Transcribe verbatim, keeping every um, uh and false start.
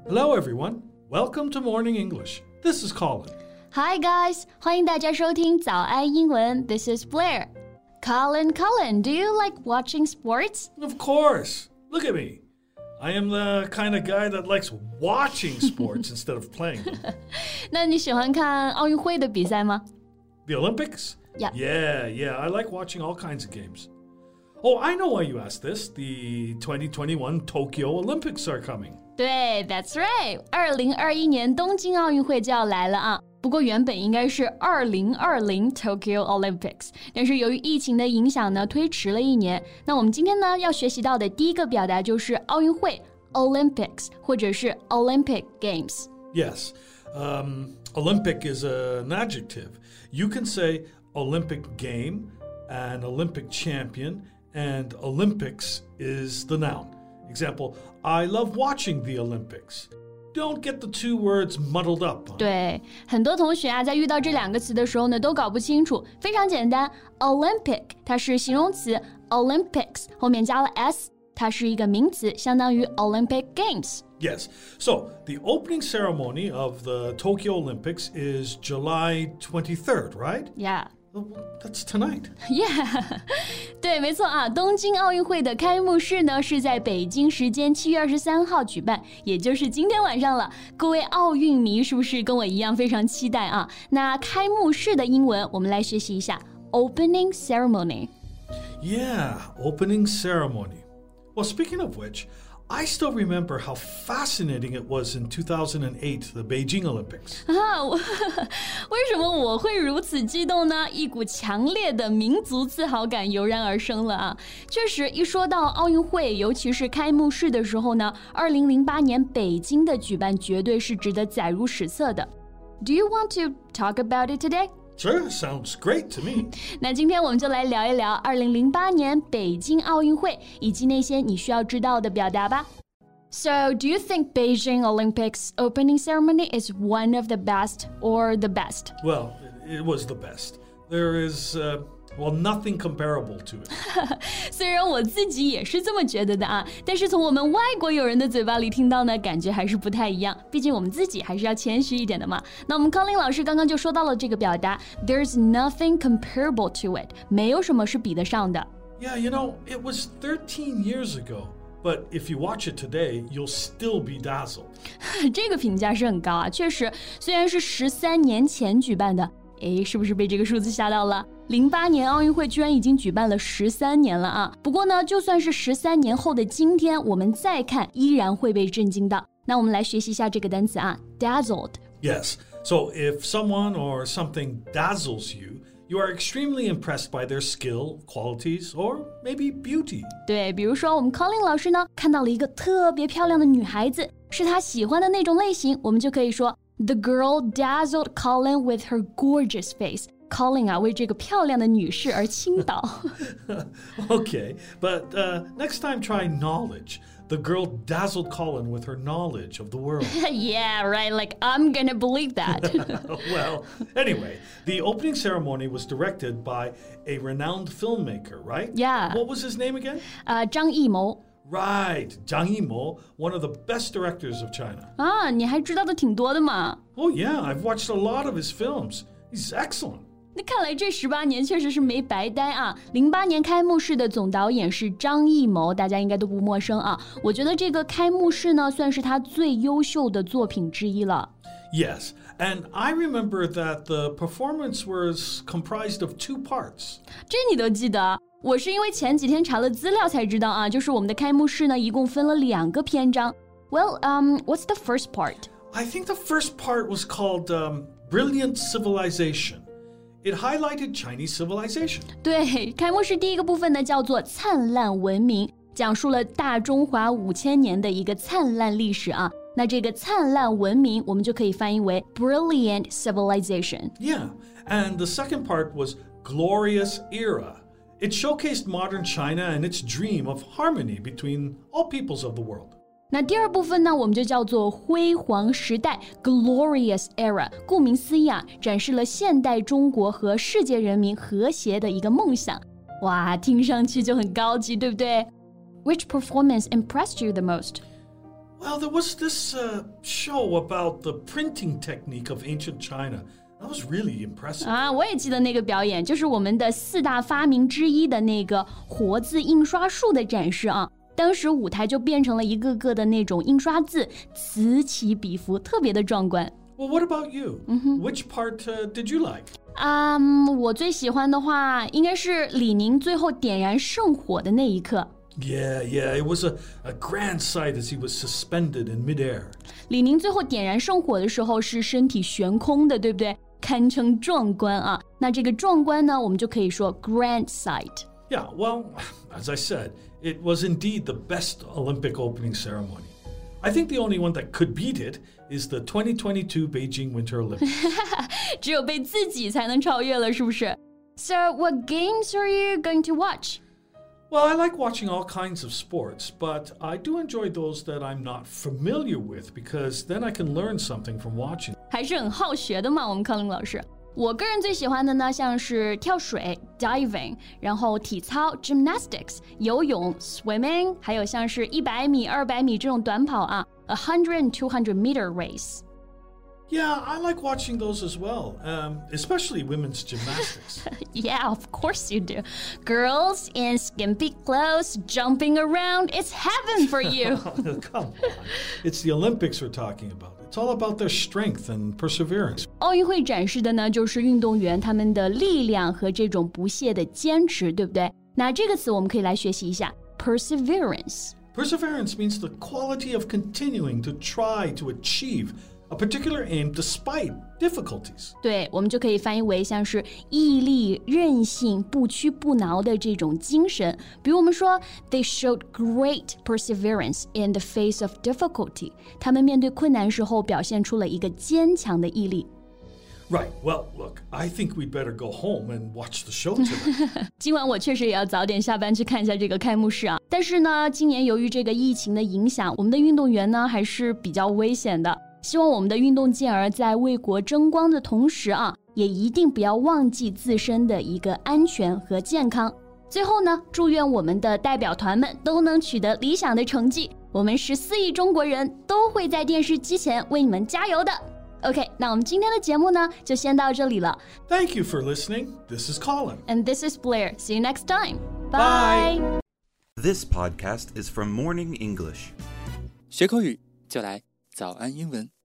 Hello, everyone. Welcome to Morning English. This is Colin. Hi, guys. 欢迎大家收听早安英文 This is Blair. Colin, Colin, do you like watching sports? Of course. Look at me. I am the kind of guy that likes watching sports instead of playing them. 那你喜欢看奥运会的比赛吗？ The Olympics? Yeah. Yeah, yeah. I like watching all kinds of games. Oh, I know why you asked this. The twenty twenty-one Tokyo Olympics are coming. 对 That's right. 二零二一年东京奥运会就要来了啊。不过原本应该是二零二零 Tokyo Olympics， 但是由于疫情的影响呢，推迟了一年。那我们今天呢要学习到的第一个表达就是奥运会 Olympics 或者是 Olympic Games. Yes. Um, Olympic is an adjective. You can say Olympic game, an Olympic champion, and Olympics is the noun. Example, I love watching the Olympics.Don't get the two words muddled up. 对，很多同学啊，在遇到这两个词的时候呢，都搞不清楚。非常简单 ，Olympic 它是形容词 ，Olympics 后面加了 s， 它是一个名词，相当于 Olympic Games. Yes. So the opening ceremony of the Tokyo Olympics is July twenty-third, right? Yeah. That's tonight. Yeah. 对，没错啊，东京奥运会的开幕式呢是在北京时间七月二十三号举办，也就是今天晚上了。各位奥运迷是不是跟我一样非常期待啊？那开幕式的英文我们来学习一下 Opening Ceremony. Yeah, opening ceremony. Well, speaking of which, I still remember how fascinating it was in two thousand eight, the Beijing Olympics. 啊，为什么我会如此激动呢？一股强烈的民族自豪感油然而生了啊！确实，一说到奥运会，尤其是开幕式的时候呢，二零零八年北京的举办绝对是值得载入史册的。Do you want to talk about it today?Sure, sounds great to me. 那今天我们就来聊一聊二零零八年北京奥运会以及那些你需要知道的表达吧。So, do you think Beijing Olympics opening ceremony is one of the best or the best? Well, it was the best. There is, uh, well, nothing comparable to it. 虽然我自己也是这么觉得的啊，但是从我们外国友人的嘴巴里听到呢，感觉还是不太一样。毕竟我们自己还是要谦虚一点的嘛。那我们康林老师刚刚就说到了这个表达 ，There's nothing comparable to it， 没有什么是比得上的。 Yeah, you know, it was thirteen years ago.But if you watch it today, you'll still be dazzled. 这个评价是很高啊，确实，虽然是十三年前举办的，诶，是不是被这个数字吓到了？零八年奥运会居然已经举办了十三年了啊！不过呢，就算是十三年后的今天，我们再看，依然会被震惊到。那我们来学习一下这个单词啊 ，dazzled. Yes. So if someone or something dazzles you,You are extremely impressed by their skill, qualities, or maybe beauty. 对，比如说我们 Colin 老师呢，看到了一个特别漂亮的女孩子，是他喜欢的那种类型，我们就可以说 The girl dazzled Colin with her gorgeous face. Colin 啊，为这个漂亮的女士而倾倒。 Okay, but uh, next time try knowledge.The girl dazzled Colin with her knowledge of the world. Yeah, right. Like, I'm gonna believe that. Well, anyway, the opening ceremony was directed by a renowned filmmaker, right? Yeah. What was his name again? Uh, 张艺谋. Right, Zhang Yimou, one of the best directors of China. 啊，你还知道的挺多的嘛。 Oh, yeah, I've watched a lot of his films. He's excellent. 那看来这十八年确实是没白待啊！零八年开幕式的总导演是张艺谋，大家应该都不陌生啊。我觉得这个开幕式呢，算是他最优秀的作品之一了。 Yes, and I remember that the performance was comprised of two parts. 这你都记得？我是因为前几天查了资料才知道啊，就是我们的开幕式呢，一共分了两个篇章。Well, um, what's the first part? I think the first part was called um, Brilliant Civilization.It highlighted Chinese civilization. 对，开幕式第一个部分呢叫做灿烂文明，讲述了大中华五千年的一个灿烂历史啊。那这个灿烂文明，我们就可以翻译为 Brilliant Civilization. Yeah, and the second part was Glorious Era. It showcased modern China and its dream of harmony between all peoples of the world. 那第二部分呢，我们就叫做辉煌时代 Glorious Era。顾名思义啊，展示了现代中国和世界人民和谐的一个梦想。哇，听上去就很高级，对不对？ Which performance impressed you the most? Well, there was this uh, show about the printing technique of ancient China. That was really impressive. 啊，我也记得那个表演，就是我们的四大发明之一的那个活字印刷术的展示啊。当时舞台就变成了一个个的那种印刷字，此起彼伏，特别的壮观。 Well, what about you? Mm-hmm. Which part uh, did you like? 啊、um, 我最喜欢的话应该是李宁最后点燃圣火的那一刻。 Yeah, yeah, it was a, a grand sight as he was suspended in midair. 李宁最后点燃圣火的时候是身体悬空的，对不对？堪称壮观啊。那这个壮观呢，我们就可以说 grand sight. Yeah, well, as I said, it was indeed the best Olympic opening ceremony. I think the only one that could beat it is the twenty twenty-two Beijing Winter Olympics. 只有被自己才能超越了，是不是？ So, what games are you going to watch? Well, I like watching all kinds of sports, but I do enjoy those that I'm not familiar with because then I can learn something from watching. 还是很好学的嘛，我们康林老师。我个人最喜欢的呢，像是跳水 diving， 然后体操 gymnastics， 游泳 swimming， 还有像是一百米、二百米这种短跑啊 a hundred and two hundred meter race。Yeah, I like watching those as well, um, especially women's gymnastics. Yeah, of course you do. Girls in skimpy clothes jumping around, it's heaven for you. Come on. It's the Olympics we're talking about. It's all about their strength and perseverance. 奥运会展示的呢，就是运动员他们的力量和这种不懈的坚持，对不对？那这个词我们可以来学习一下 perseverance. Perseverance means the quality of continuing to try to achieve a particular aim despite difficulties. 对，我们就可以翻译为像是毅力、韧性、不屈不挠的这种精神。比如我们说 They showed great perseverance in the face of difficulty. 他们面对困难时候表现出了一个坚强的毅力。 Right. Well, look, I think we'd better go home and watch the show tonight. 今晚我确实也要早点下班去看一下这个开幕式啊。但是呢，今年由于这个疫情的影响，我们的运动员呢还是比较危险的。希望我们的运动健儿在为国争光的同时啊，也一定不要忘记自身的一个安全和健康。最后呢，祝愿我们的代表团们都能取得理想的成绩。我们十四亿中国人都会在电视机前为你们加油的。OK， 那我们今天的节目呢，就先到这里了。 Thank you for listening. This is Colin. And this is Blair. See you next time. Bye. Bye. This podcast is from Morning English. 学口语就来早安英文。